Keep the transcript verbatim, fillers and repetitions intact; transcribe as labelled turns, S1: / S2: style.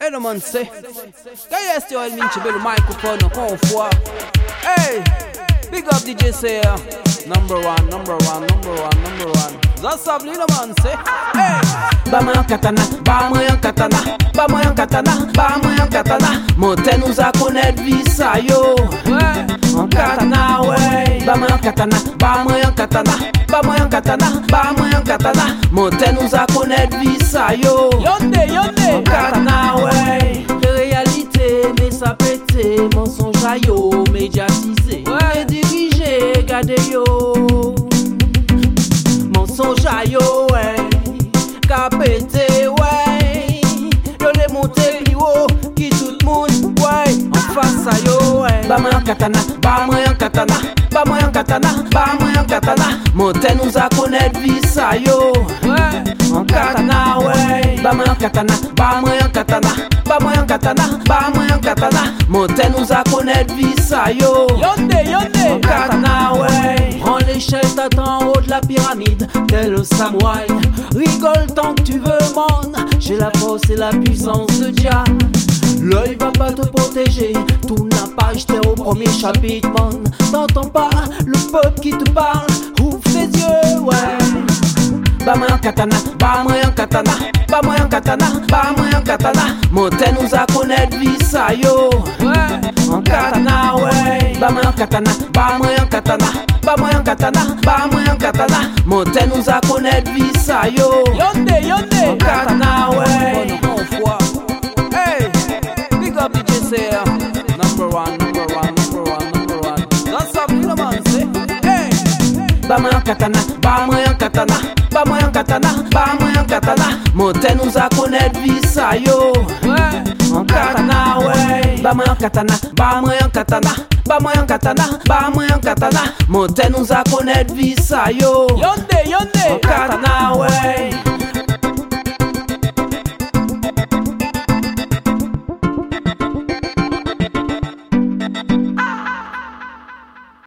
S1: Hey, no man say. Can you still mean to build a microphone come for? Hey, big up D J say number one, number one, number one, number one. That's a little man say. Hey,
S2: Bama yon katana, bama yon katana, bama yon katana, bama yon katana. Monte nous a connaître visa yo.
S1: ouais,
S2: En katana ouais. Bama yon katana, bama yon katana, bama yon katana, bama yon katana. Monte nous a connaître visa yo.
S1: yonde,
S2: En
S1: yonde.
S2: katana ouais.
S1: Réalité, mais ça pète, mensonge à yo, médiatisé. Ouais, dirigé, gardé yo. Mensonge à yo, ouais. Capété, ouais. Yo les monté plus haut, qui tout le monde, ouais. En face à yo, ouais.
S2: Bama yon katana, bama yon katana, bama yon katana, bama yon katana. Monte nous a connaître visa yo.
S1: Ouais,
S2: En katana ouais. Bama yon katana, bama yon katana, bama yon katana, bama yon katana. Monte nous a connaître visa yo.
S1: yonde,
S2: En
S1: yonde.
S2: katana ouais.
S1: Prends l'échelle, t'attends en haut de la pyramide, tel le samouraï. Rigole tant que tu veux, man. J'ai la force et la puissance de Jah. L'œil va pas te protéger, tout n'a pas jeté au premier chapitre, man. T'entends pas le peuple qui te parle, ouvre tes yeux, ouais.
S2: Bama yon katana, bama yon katana, bama yon katana, bama yon katana. Monte nous a connaître visa yo.
S1: Ouais,
S2: En katana ouais. Bama yon katana, bama yon katana, bama yon katana, bama yon katana. Monte nous a connaître visa yo.
S1: yonde,
S2: En
S1: yonde.
S2: katana ouais.
S1: Hey, big up D J say number one, number one, number one, number one. That's a little man say. Hey,
S2: Bama yon katana, bama yon katana, bama yon katana, bama yon katana. Monte nous a connaître visa yo.
S1: ouais,
S2: En katana ouais. Bama yon katana, bama yon katana, bama yon katana, bama yon katana. Monte nous a connaître visa yo.
S1: yonde,
S2: En
S1: yonde.
S2: katana ouais.